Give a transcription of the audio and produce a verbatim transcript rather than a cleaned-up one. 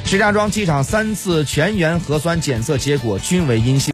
石家庄机场三次全员核酸检测结果均为阴性。